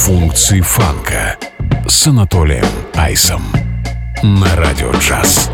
Функции фанка с Анатолием Айсом на Радио Джаз.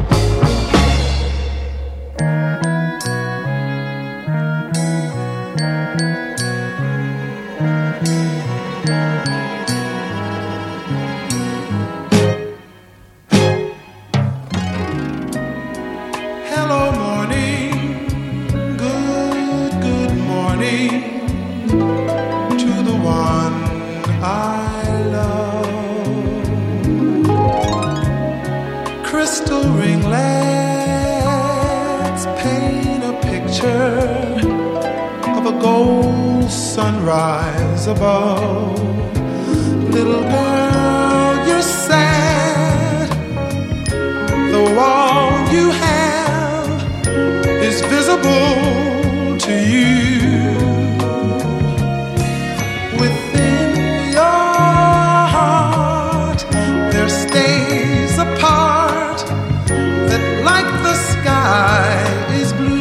Sunrise above. Little girl, you're sad. The wall you have is visible to you. Within your heart there stays a part that, like the sky, is blue.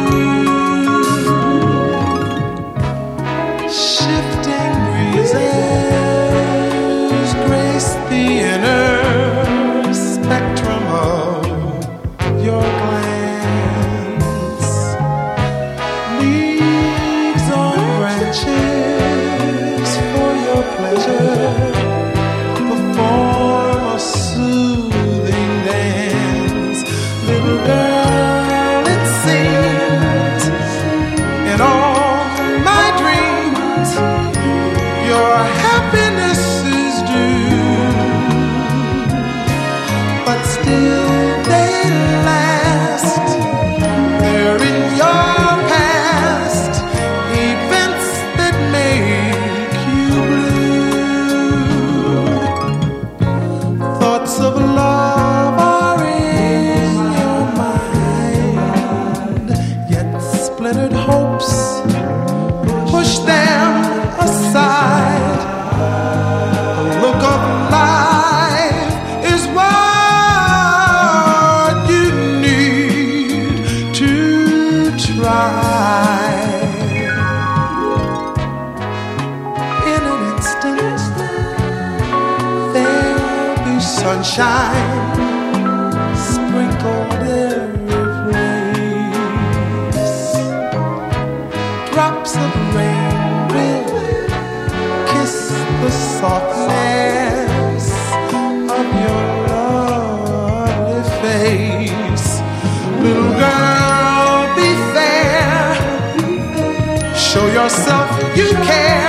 Sunshine sprinkled every place. Drops of rain will kiss the softness of your lovely face. Little girl, be fair. Show yourself you care.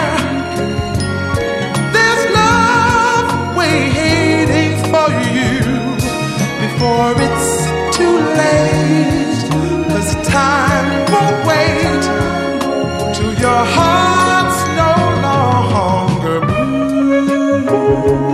Before it's too late, 'cause time won't wait till your heart's no longer blue.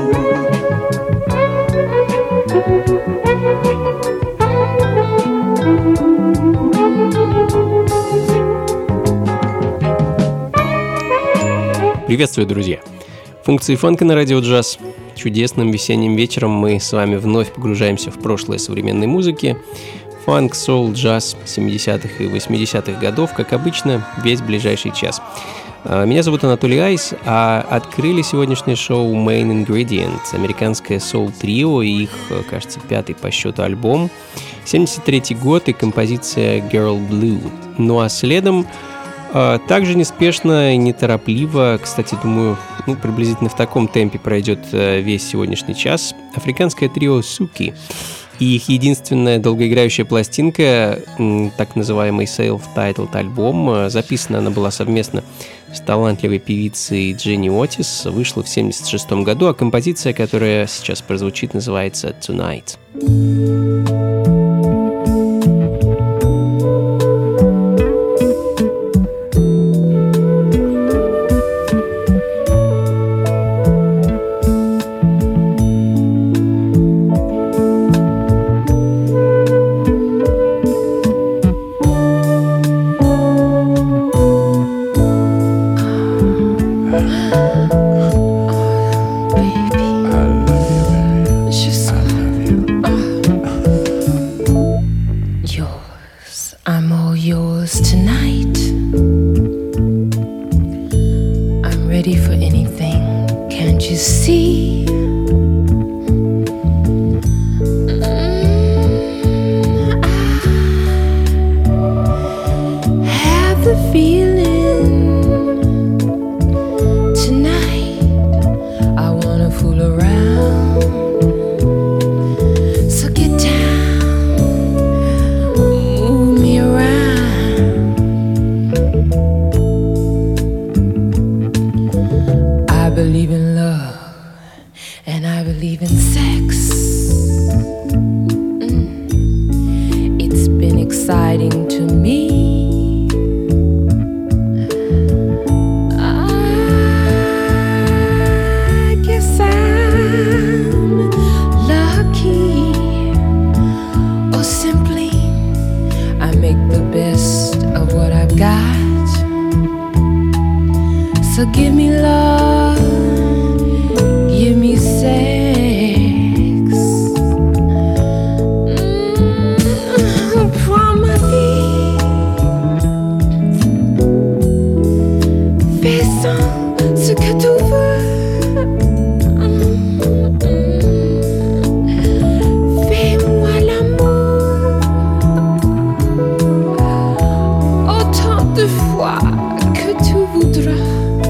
Приветствую, друзья! Функции фанка на Радио Джаз. Чудесным весенним вечером мы с вами вновь погружаемся в прошлое современной музыки. Фанк, соул, джаз 70-х и 80-х годов, как обычно, весь ближайший час. Меня зовут Анатолий Айс, а открыли сегодняшнее шоу Main Ingredient, американское соул-трио и их, кажется, 5-й по счету альбом. 73-й год и композиция Girl Blue. Ну а следом также неспешно и неторопливо, кстати, думаю, приблизительно в таком темпе пройдет весь сегодняшний час, африканское трио Суки и их единственная долгоиграющая пластинка, так называемый self-titled альбом. Записана она была совместно с талантливой певицей Дженни Отис, вышла в 1976 году, а композиция, которая сейчас прозвучит, называется «Tonight». ready for anything. Can't you see? I have the feeling tonight I wanna fool around. So get down, move me around. I believe in love and I believe in sex. It's been exciting to me. I guess I'm lucky, or simply I make the best of what I've got. So give me love, give me sex. Prends ma vie, fais-en ce que tu veux. Fais-moi l'amour autant de fois que tu voudras.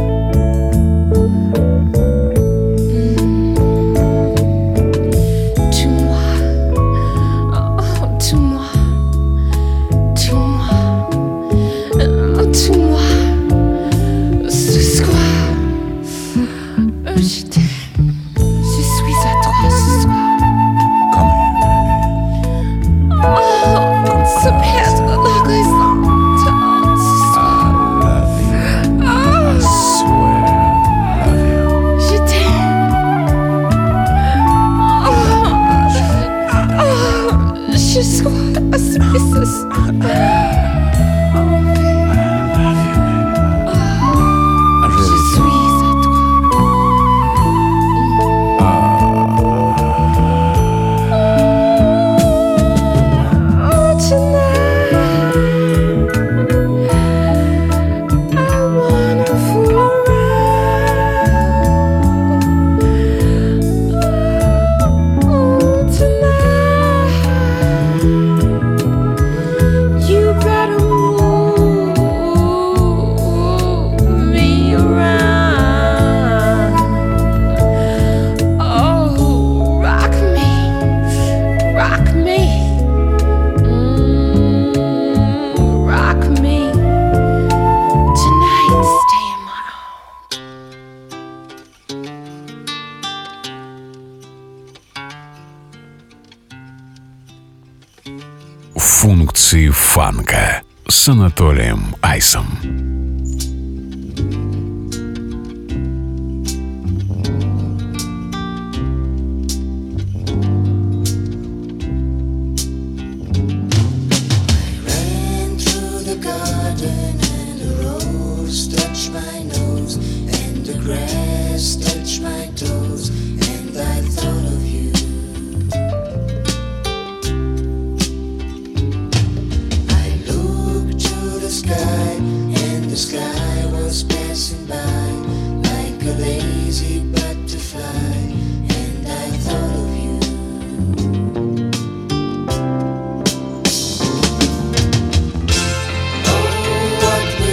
Функции фанка с Анатолием Айсом.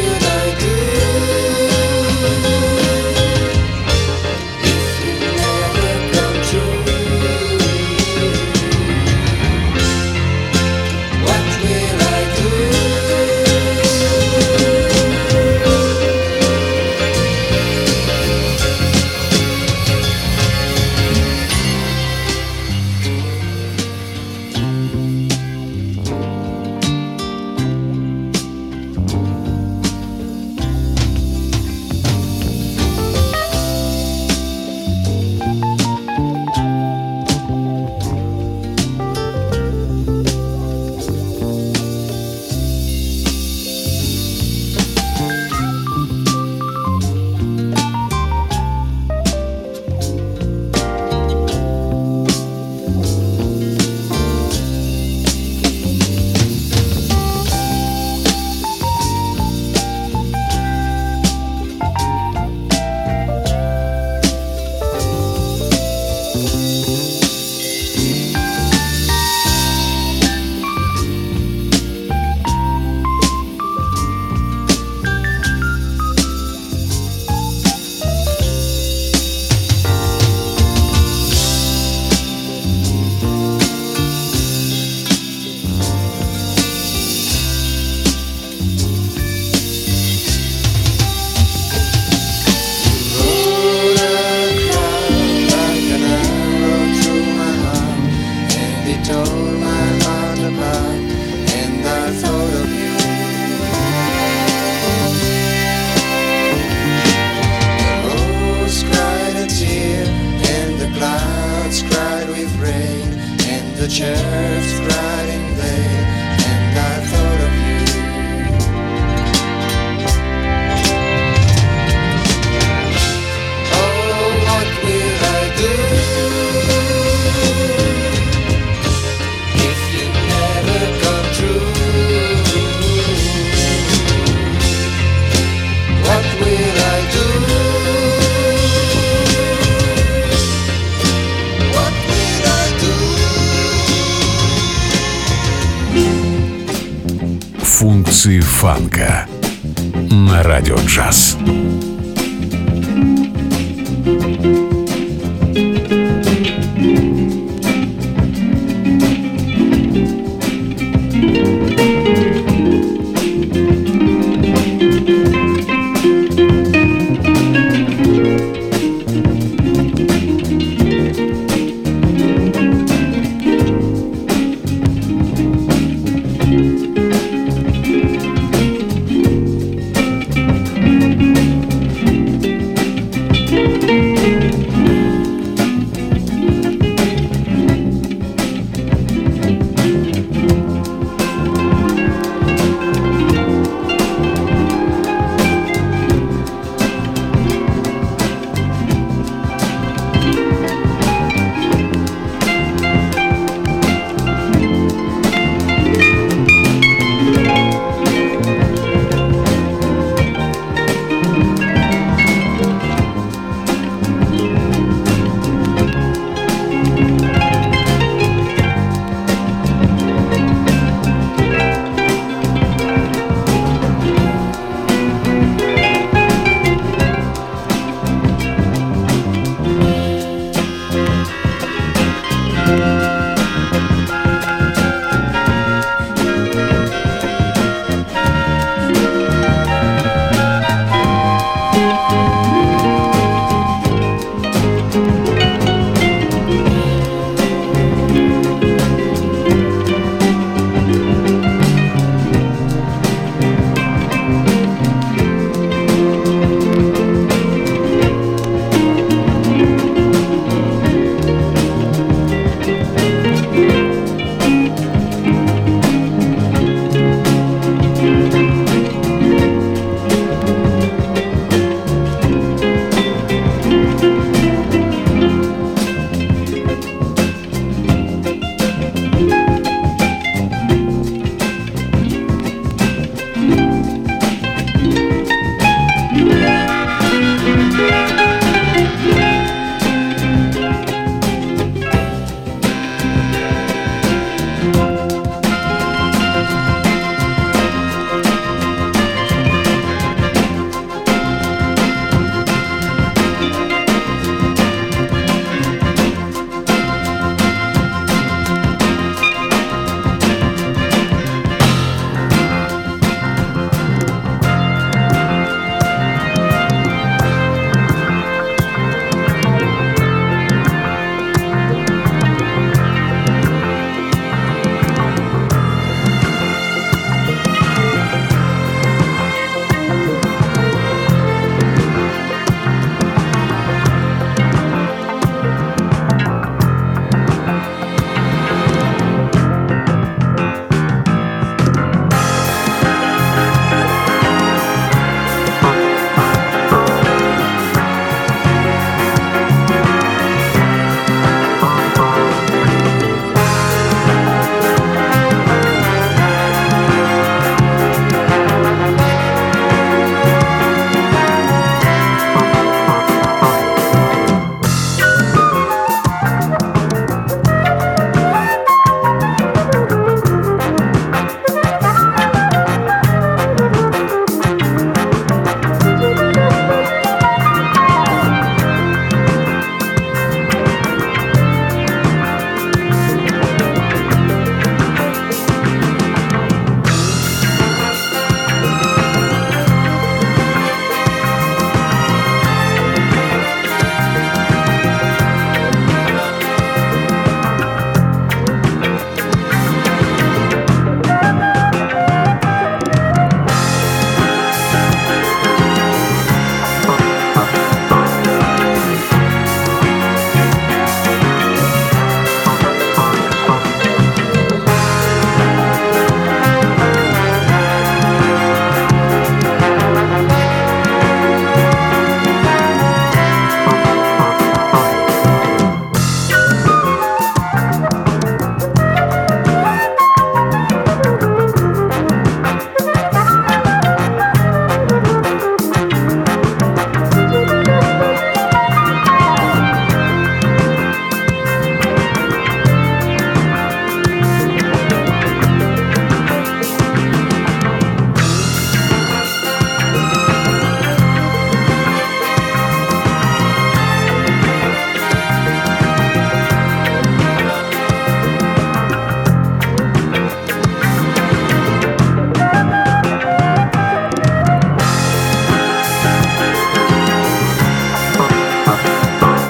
If you never church riding there, and I thought of you. Oh, what will I do if you never come true? What will I do? What will I do? Функции фанка на радио джаз.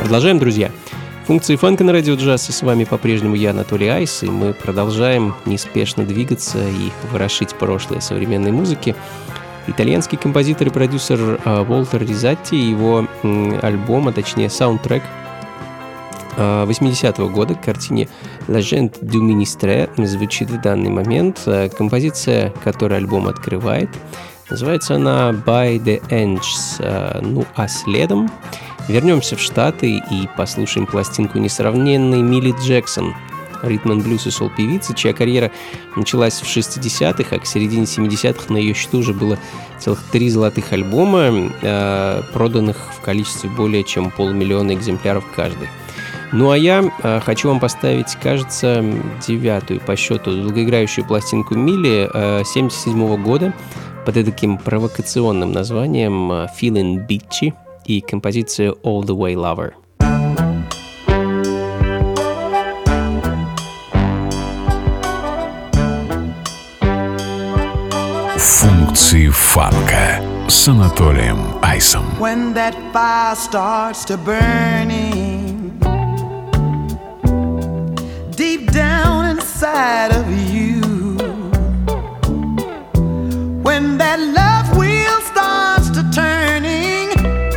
Продолжаем, друзья. Функции фанка на радио джаз, и с вами по-прежнему я, Анатолий Айс, и мы продолжаем неспешно двигаться и ворошить прошлое современной музыки. Итальянский композитор и продюсер Волтер Ризатти, его альбом, а точнее саундтрек 80-го года к картине «La gente du ministre» звучит в данный момент. Композиция, которую альбом открывает, называется она «By the Angels». Ну а следом вернемся в Штаты и послушаем пластинку несравненной Милли Джексон, ритм-н-блюз и сол-певицы, чья карьера началась в 60-х, а к середине 70-х на ее счету уже было целых 3 золотых альбома, проданных в количестве более чем 500 000 экземпляров каждый. Ну а я хочу вам поставить, кажется, 9-ю по счету долгоиграющую пластинку Милли 77-го года под таким провокационным названием «Feeling Bitchy» и композицию «All the Way Lover». Функции фанка с Анатолием Айсом. When that fire starts to burning deep down inside of you, when that love wheel starts to turning,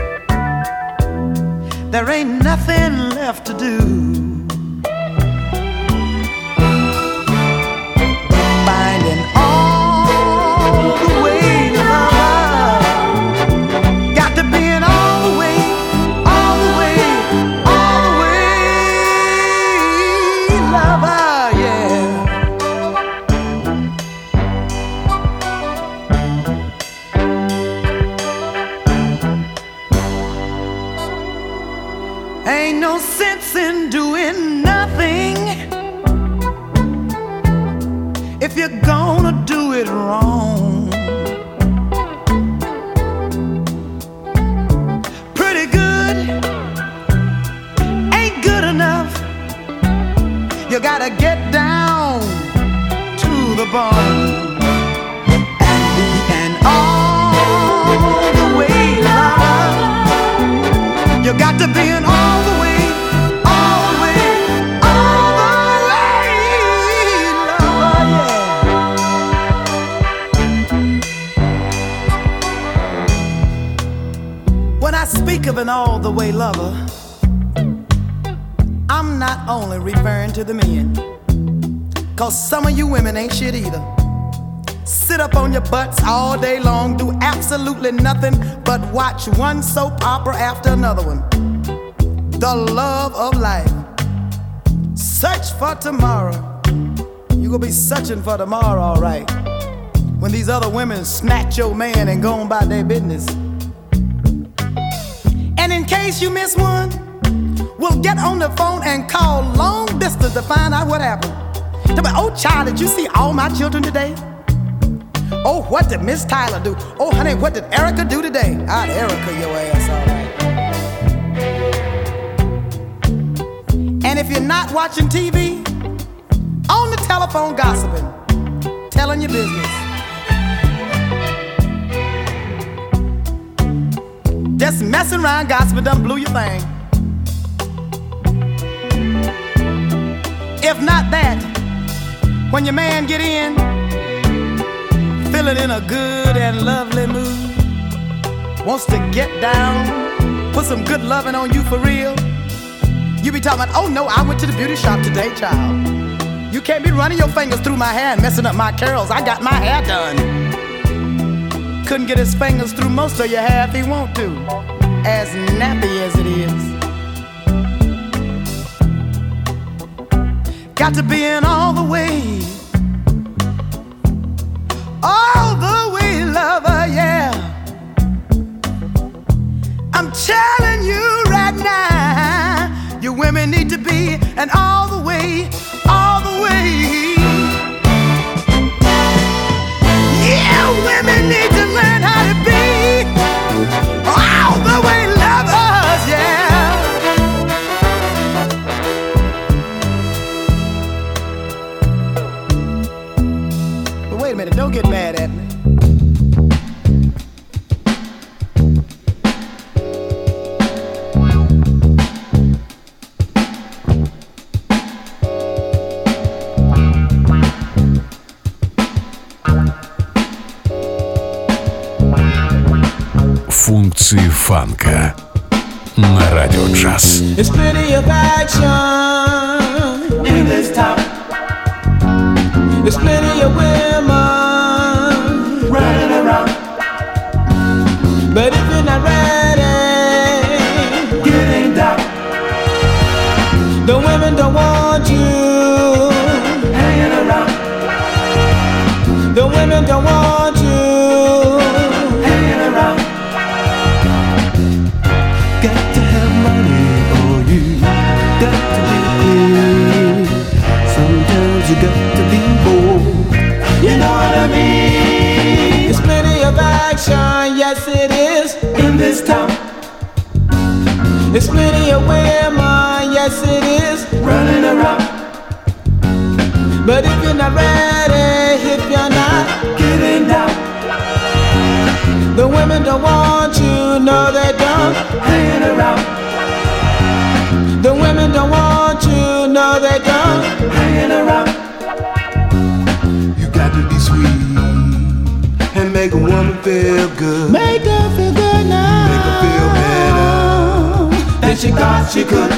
there ain't nothing left to do. Finding all the way love, got to be an all the way, all the way, all the way lover, yeah. Ain't no sense in doing nothing if you're gonna do it wrong. Pretty good ain't good enough. You gotta get down to the bone and be an all the way lover. You got to be an all the way, all the way, all the way lover, yeah. When I speak of an all the way lover, I'm not only referring to the men, 'cause some of you women ain't shit either. Sit up on your butts all day long, do absolutely nothing but watch one soap opera after another one. The love of life. Search for tomorrow. You gonna be searching for tomorrow, all right, when these other women snatch your man and go on about their business. And in case you miss one, we'll get on the phone and call long distance to find out what happened. Tell me, oh child, did you see all my children today? Oh, what did Miss Tyler do? Oh, honey, what did Erica do today? I'd Erica your ass, all right. And if you're not watching TV, on the telephone gossiping, telling your business. Just messing around gossiping done blew your thing. If not that, when your man get in, feeling in a good and lovely mood, wants to get down, put some good loving on you for real, you be talking about, oh no, I went to the beauty shop today, child. You can't be running your fingers through my hair and messing up my curls. I got my hair done. Couldn't get his fingers through most of your hair if he want to, as nappy as it is. Got to be in all the way, all the way lover, yeah. I'm telling you right now, you women need to be an all the way, all the way. Yeah, women need to learn how to be all the way lovers, yeah. But wait a minute, don't get mad at me. Функции фанка на Радио Джаз. There's plenty of action in this town. There's plenty of women running around. But if you're not ready, getting down, the women don't want you hanging around. The women don't want you hanging around. Got to have money or you got to be clean. Sometimes you got to be bold. You know what I mean? There's plenty of action, yes it is, in this town. There's plenty of women, yes it is, running around. But if you're not ready, if you're not getting down, the women don't want you, no they don't, hanging around. The women don't want you, no they don't, hanging around. You got to be sweet and make a woman feel good. Make her feel good now. Make her feel better than she thought she could.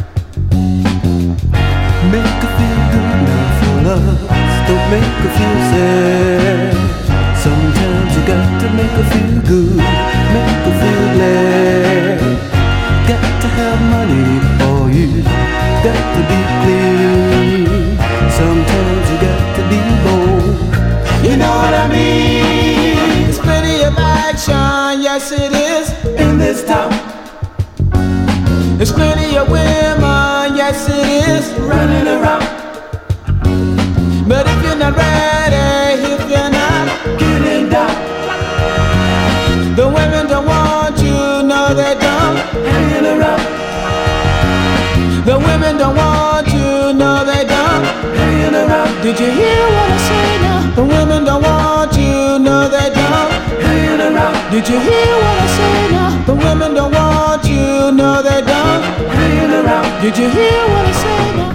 Make her feel good now for love. Don't make her feel sad. Sometimes you got to make her feel good, make her feel glad. Got to have money or you got to be clean. Sometimes you got to be bold. You know what I mean? There's plenty of action, yes it is, in this town. There's plenty of women, yes it is, running around. But if you're not ready, if you're not getting down, the women don't want you, no they don't, hanging around. The women don't want you, no they don't, hanging around. Did you hear what I say now? The women don't want you, no they don't, hanging around. Did you hear what I say now? The women don't want you, no they don't, hanging around. Did you hear what I say now?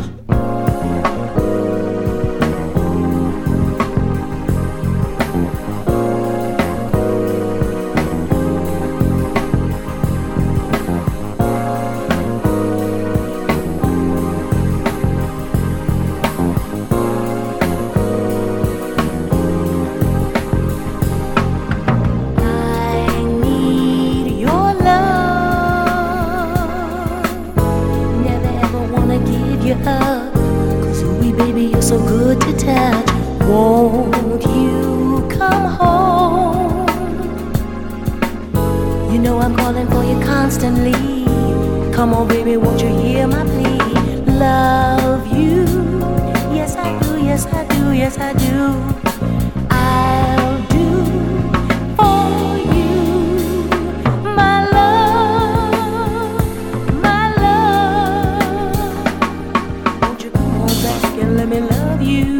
Come on, baby, won't you hear my plea? Love you, yes I do, yes I do, yes I do. I'll do for you, my love, my love. Won't you come on back and let me love you?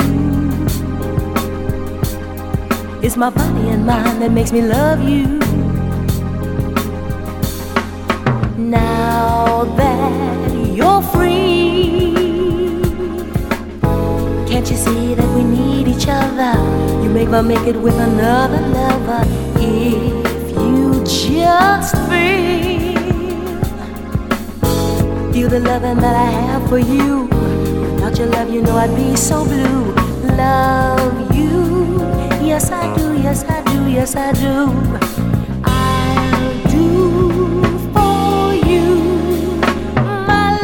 It's my body and mind that makes me love you. Now that you're free, can't you see that we need each other? You make it with another lover. If you just feel the loving that I have for you. Without your love, you know I'd be so blue. Love you, yes I do, yes I do, yes I do. I'll do for you, my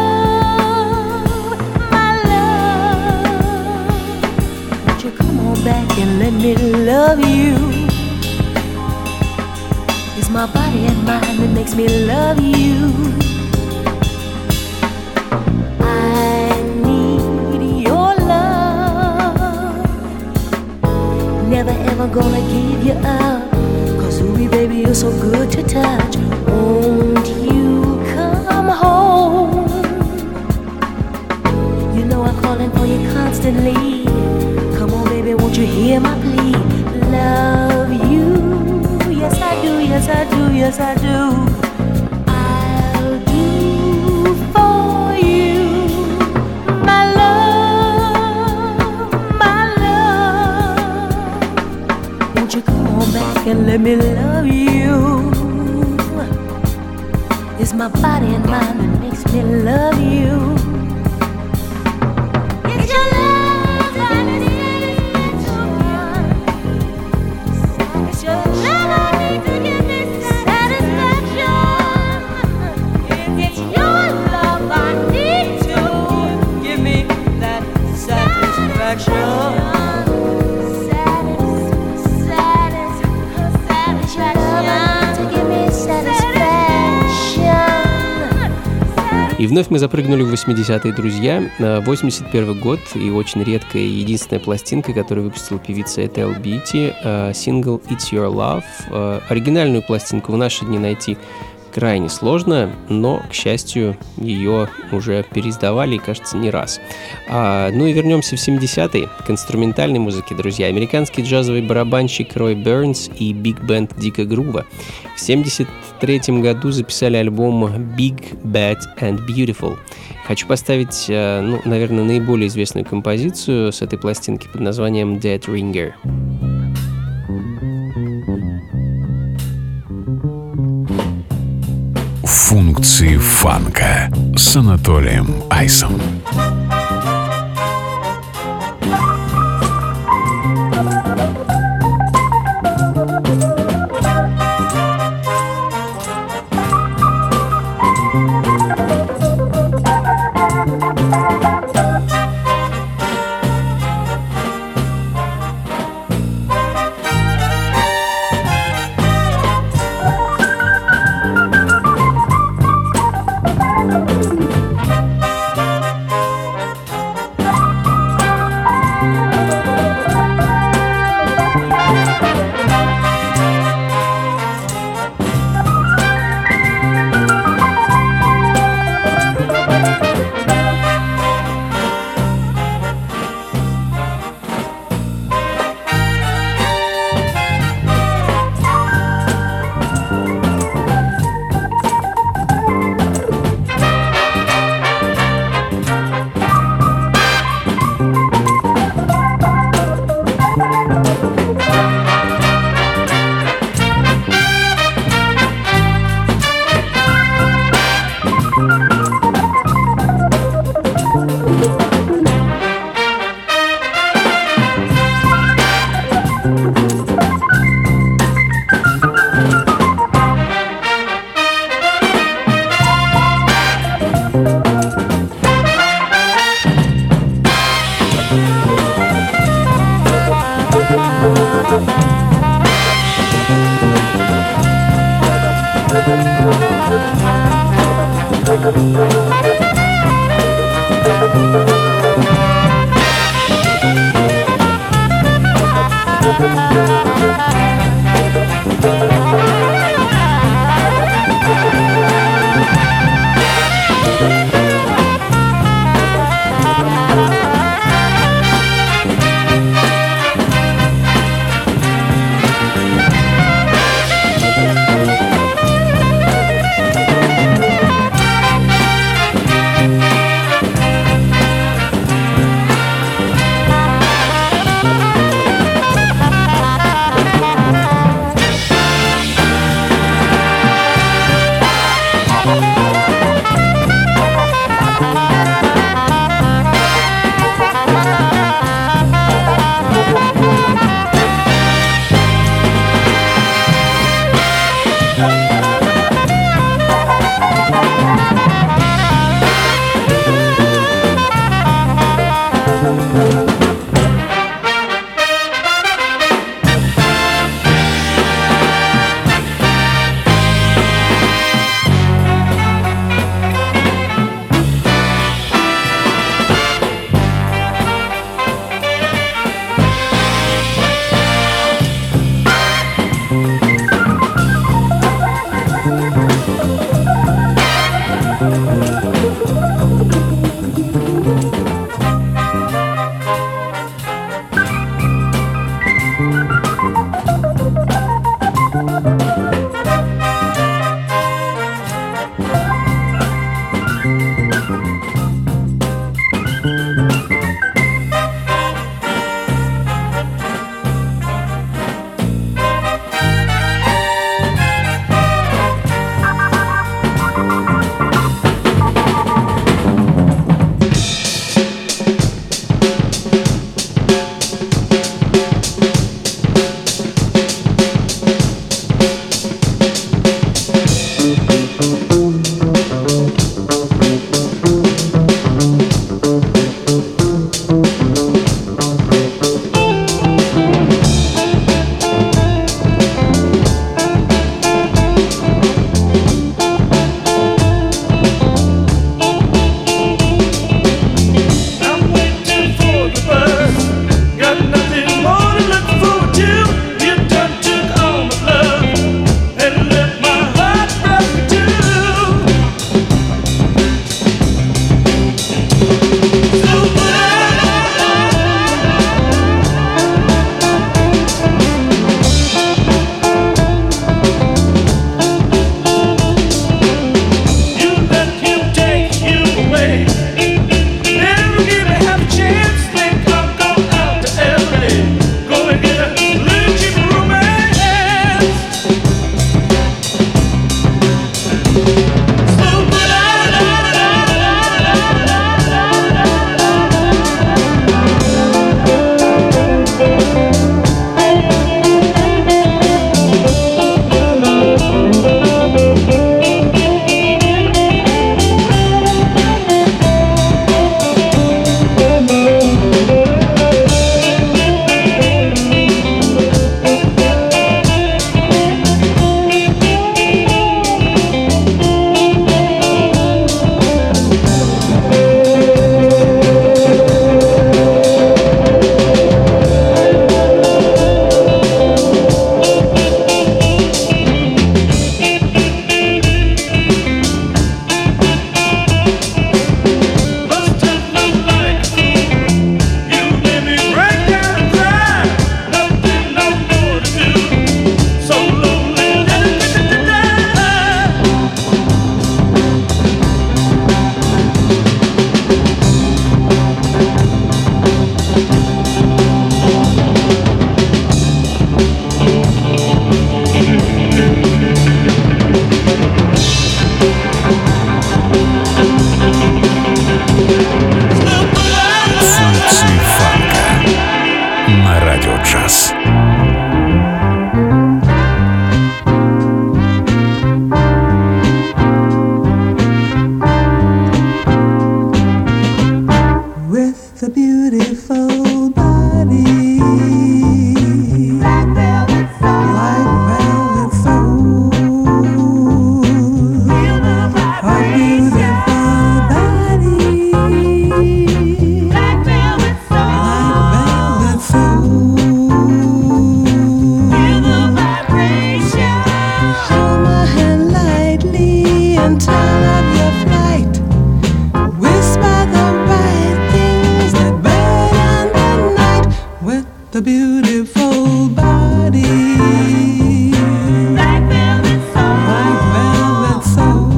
love, my love. Won't you come on back and let me love you? It's my body and mind that makes me love you. Never ever gonna give you up, 'cause ooh baby you're so good to touch. Won't you come home? You know I'm calling for you constantly. Come on baby, won't you hear my plea? Love you, yes I do, yes I do, yes I do. I'll do for you, my love, my love. Won't you come on back and let me love you? my body and mind that makes me love you. It's your love that is so good. It's your love I need to give me satisfaction. It's your love I need to give me that satisfaction. И вновь мы запрыгнули в 80-е, друзья. 81 год и очень редкая и единственная пластинка, которую выпустила певица Ethel Beauty, сингл «It's Your Love». Оригинальную пластинку в наши дни найти крайне сложно, но, к счастью, ее уже переиздавали, и, кажется, не раз. Ну и вернемся в 70-е к инструментальной музыке, друзья. Американский джазовый барабанщик Рой Бернс и биг-бенд Дика Грува в 73 году записали альбом Big, Bad and Beautiful. Хочу поставить, наверное, наиболее известную композицию с этой пластинки под названием Dead Ringer. Функции фанка с Анатолием Айсом. a beautiful body. Black velvet soul. Black velvet soul.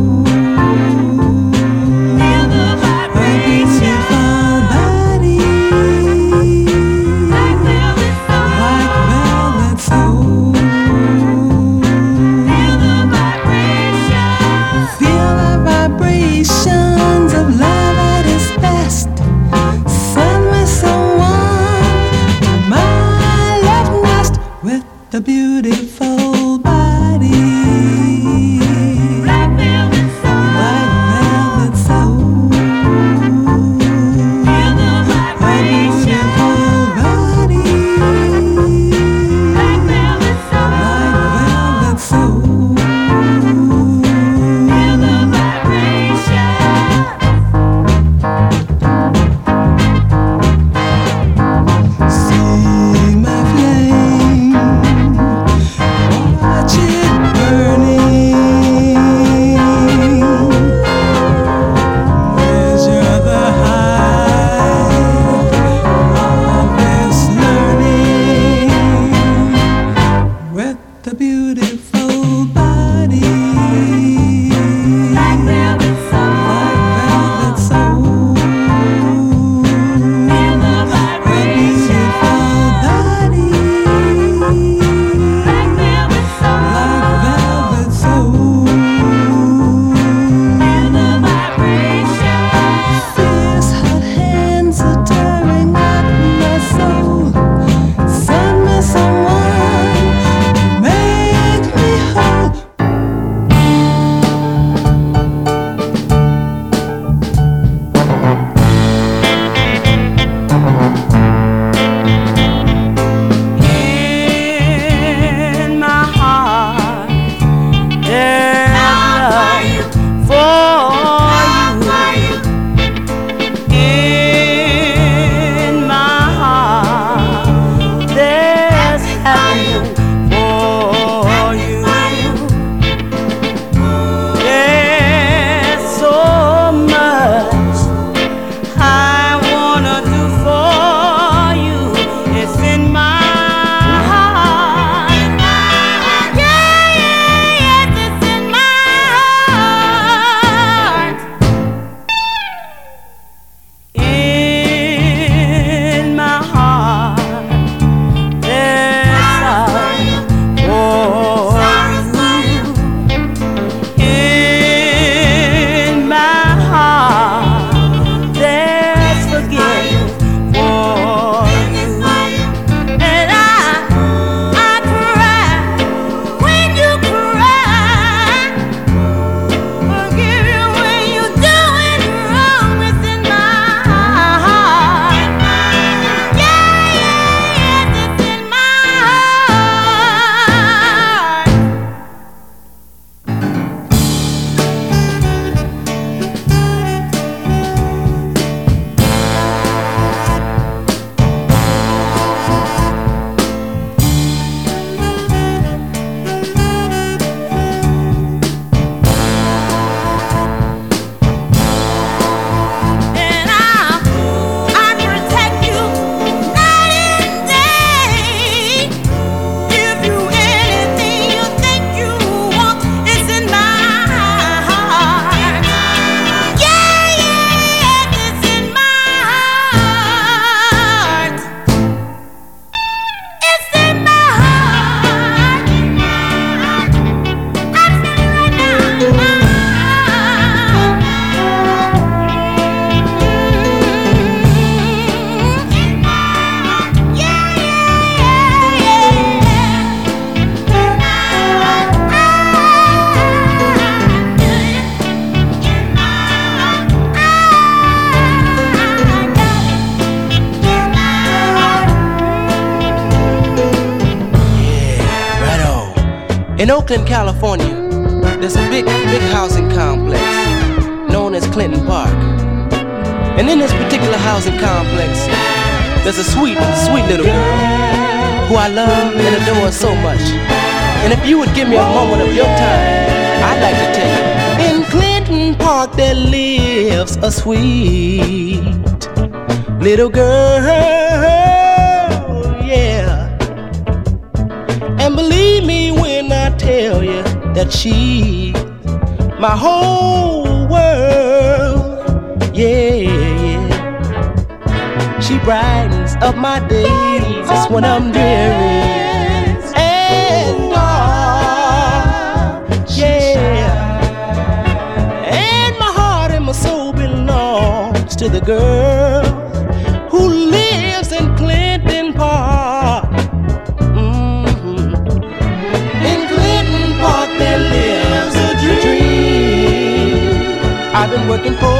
Feel the vibration. A beautiful body. Black velvet soul. Black velvet soul. Feel the vibration. Feel the vibrations of love at its best. Send me someone to my love nest with the beautiful body. Black velvet soul. Black velvet soul. Feel the vibration. A beautiful body. Black velvet soul. Black velvet soul. Feel the vibration. See my flame, watch it burning. Measure the height of this learning with the beautiful body. Black velvet soul. Black velvet soul. Feel the vibration. Body. Black velvet soul. Black velvet soul. Feel the vibration. Fierce hot hands are tearing at my soul. Send me someone to make me whole. In my heart, there's love for you. In my heart, there's happiness for you. There's so much I wanna do for you. It's in my heart. Yeah, yes, it's in my heart. In my heart, there's love for you. In my heart, there's forgiveness for you. And I cry when you cry. Forgive you when you do it wrong. It's in my heart. Yeah, yes, it's in my heart. And I protect you night and day. Give you anything you think you want. It's in my heart. Yeah, yes, it's in my heart. It's in my heart. I'm feeling right now. Right on. In Oakland, California, there's a big housing complex known as Clinton Park. And in this particular housing complex, there's a sweet little girl who I love and adore so much. And if you would give me a moment of your time, I'd like to tell you, in Clinton Park there lives a sweet little girl, yeah. I tell you that she's my whole world? Yeah, yeah. She brightens up my days when I'm dreary and dark. Yeah, and my heart and my soul belongs to the girl who lives in Clinton Park. In Clinton Park there lives a dream I've been working for.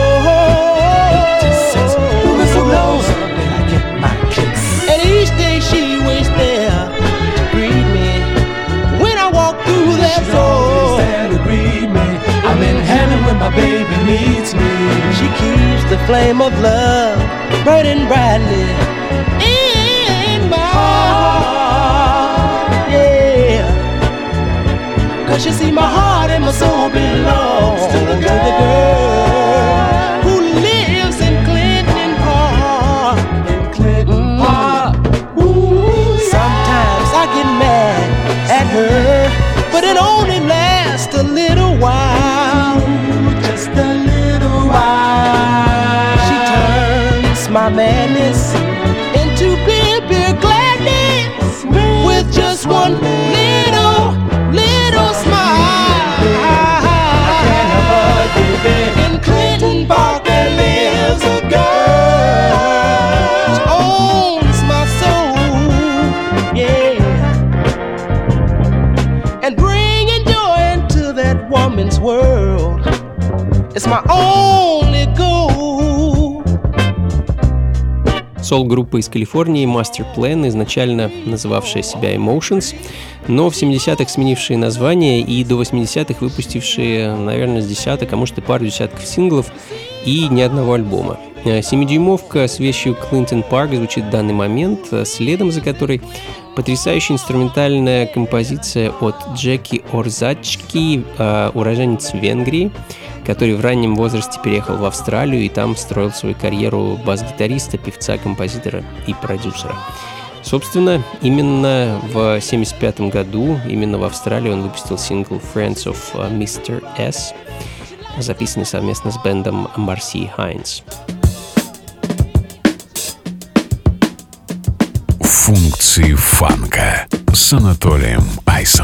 So long that I get my kicks. And each day she waits there to greet me when I walk through that door. She's there to greet me. I'm in heaven when my baby meets me. She keeps the flame of love burning brightly in my heart. Yeah, 'cause you see my heart and my soul belongs to the girl who lives in Clinton Park. In Clinton Park. Ooh, sometimes I get mad at her, but it only lasts a little while. Just a little while. She turns my madness into pure gladness with just one little smile. In Clinton Park there lives a girl. She owns my soul, yeah, and bringing joy into that woman's world is my only goal. Сол-группа из Калифорнии Master Plan, изначально называвшая себя Emotions, но в 70-х сменившие название и до 80-х выпустившие, наверное, с десяток, а может и пару десятков синглов и ни одного альбома. 7-дюймовка с вещью Clinton Park звучит в данный момент, следом за которой потрясающая инструментальная композиция от Джеки Орзачки, уроженец Венгрии, который в раннем возрасте переехал в Австралию и там строил свою карьеру бас-гитариста, певца, композитора и продюсера. Собственно, именно в 1975 году, именно в Австралии он выпустил сингл «Friends of Mr. S», записанный совместно с бэндом Марси Хайнс. Функции фанка с Анатолием Айсом.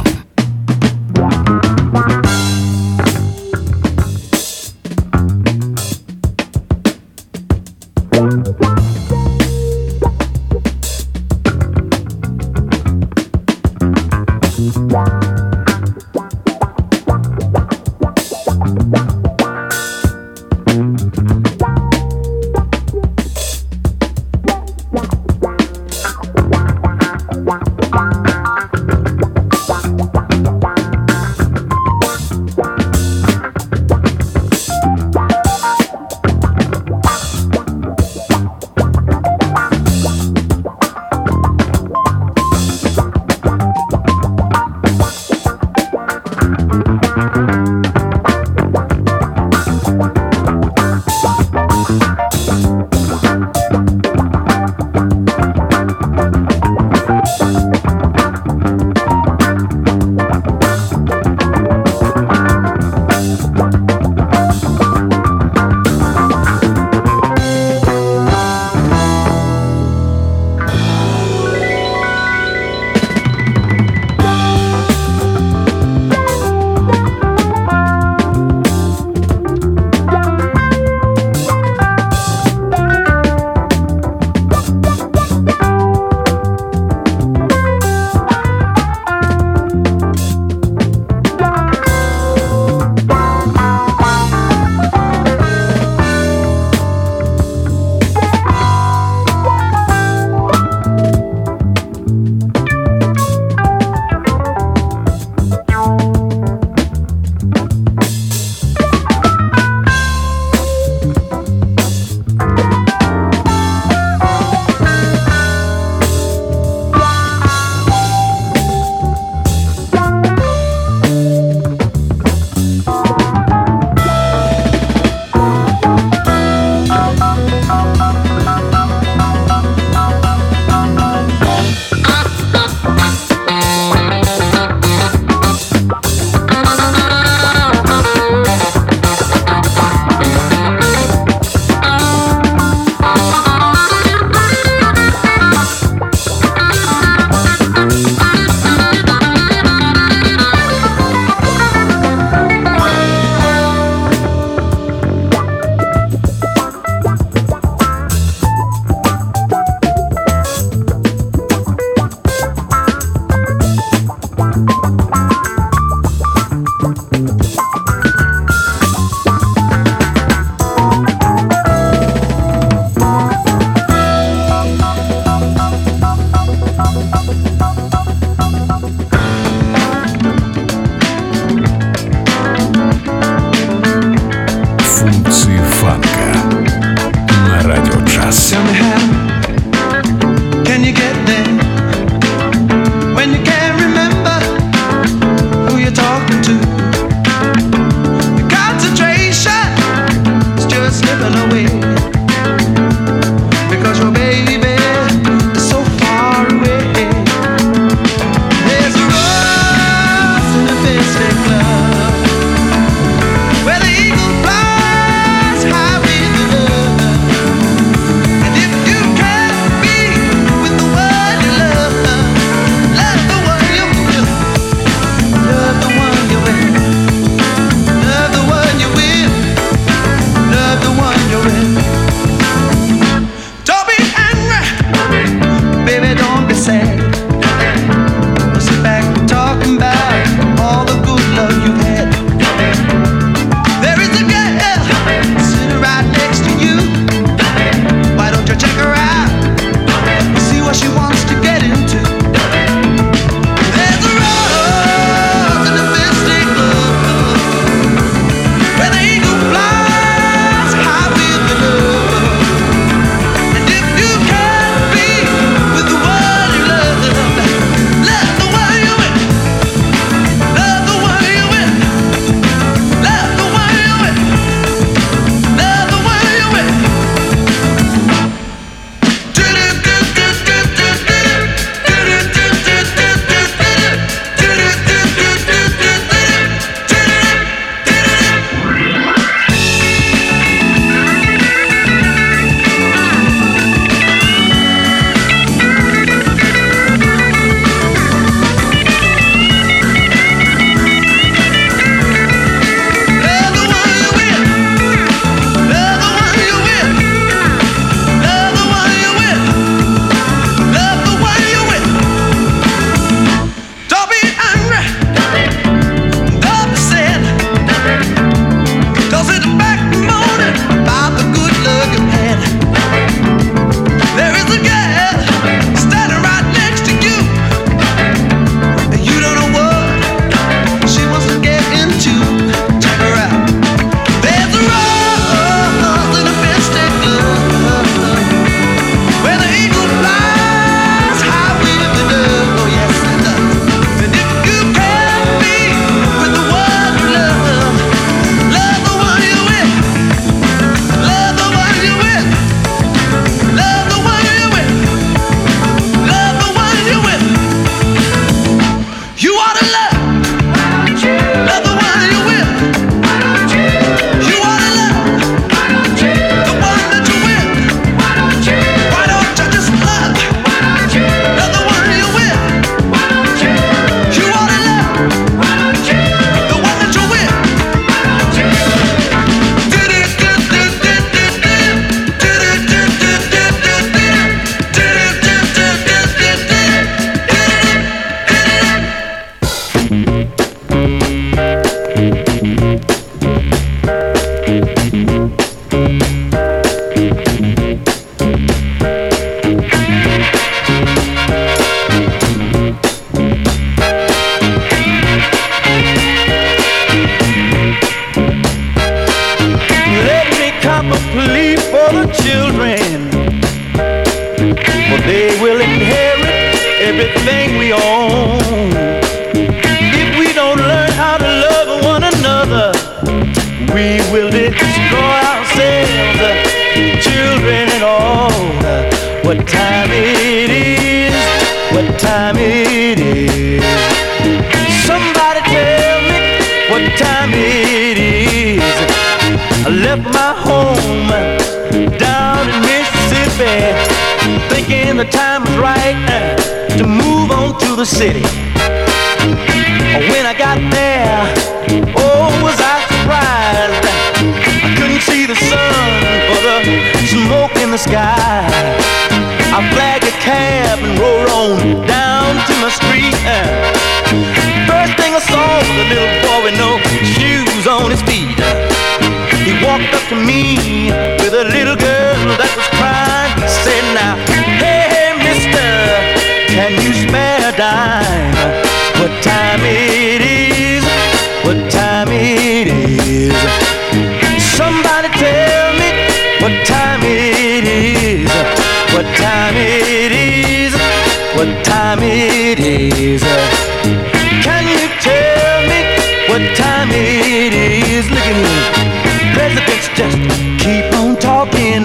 leave for the children, for they will inherit everything we own. If we don't learn how to love one another, we will destroy ourselves, children and all. What time it is, what time it is. Somebody tell me what time it is. I left my home down in Mississippi, thinking the time was right to move on to the city. When I got there, oh, was I surprised. I couldn't see the sun for the smoke in the sky. I flagged a cab and rode on down to my street. First thing I saw was a little boy with no shoes on his feet. He walked up to me with a little girl that was crying. He said, now, hey, mister, can you spare a dime? What time it is, what time it is. Somebody tell me what time it is, what time it is, what time it is. Can you tell me what time it is? Look at me, presidents just keep on talking.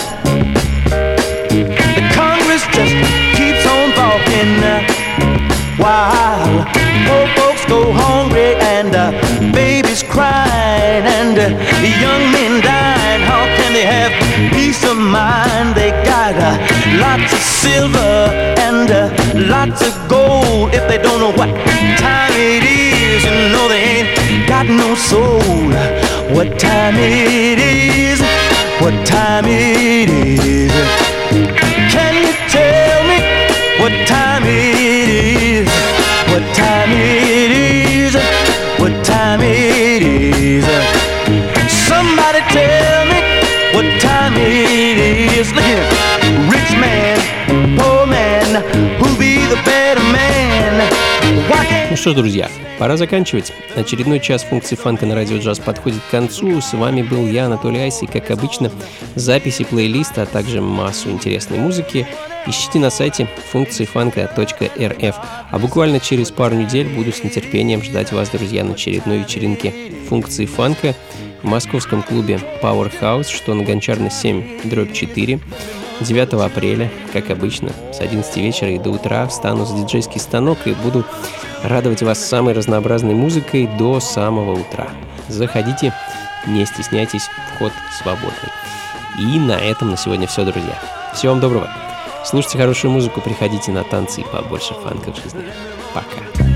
The Congress just keeps on talking. While poor folks go hungry and babies crying and young men dying, how can they have peace of mind? They got lots of silver and lots of gold. If they don't know what time it is, you know they ain't got no soul. What time it is, what time it is. Can you tell me what time it is, what time it is, what time it is. Somebody tell me what time it is. Look here, rich man, poor man, who'll be the better man? Ну что ж, друзья, пора заканчивать. Очередной час функции фанка на радио джаз подходит к концу. С вами был я, Анатолий Айс, и, как обычно, записи плейлиста, а также массу интересной музыки ищите на сайте функциифанка.рф. А буквально через пару недель буду с нетерпением ждать вас, друзья, на очередной вечеринке функции фанка в московском клубе Powerhouse, что на Гончарной 7/4. 9 апреля, как обычно, с 11 вечера и до утра встану за диджейский станок и буду радовать вас самой разнообразной музыкой до самого утра. Заходите, не стесняйтесь, вход свободный. И на этом на сегодня все, друзья. Всего вам доброго. Слушайте хорошую музыку, приходите на танцы и побольше фанка в жизни. Пока.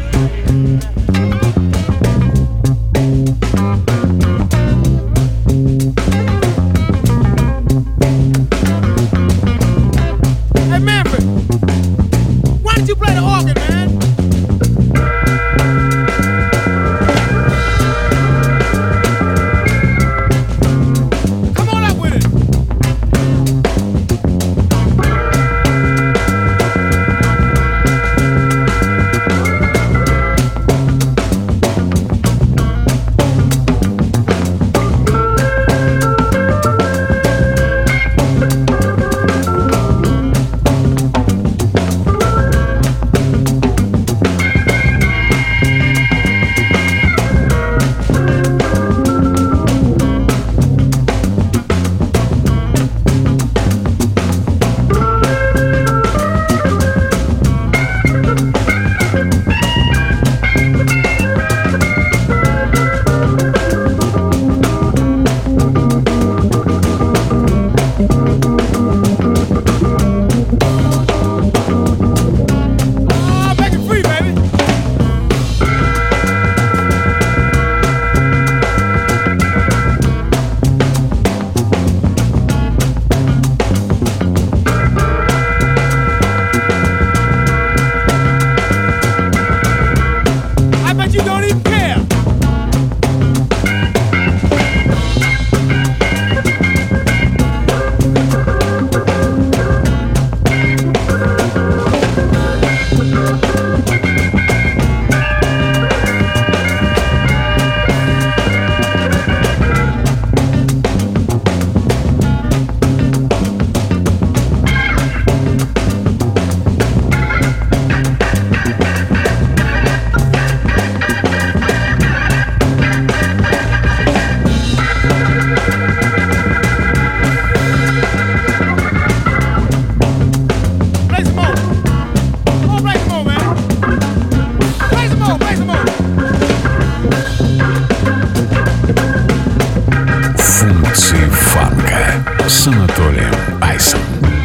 с Анатолием Айсом.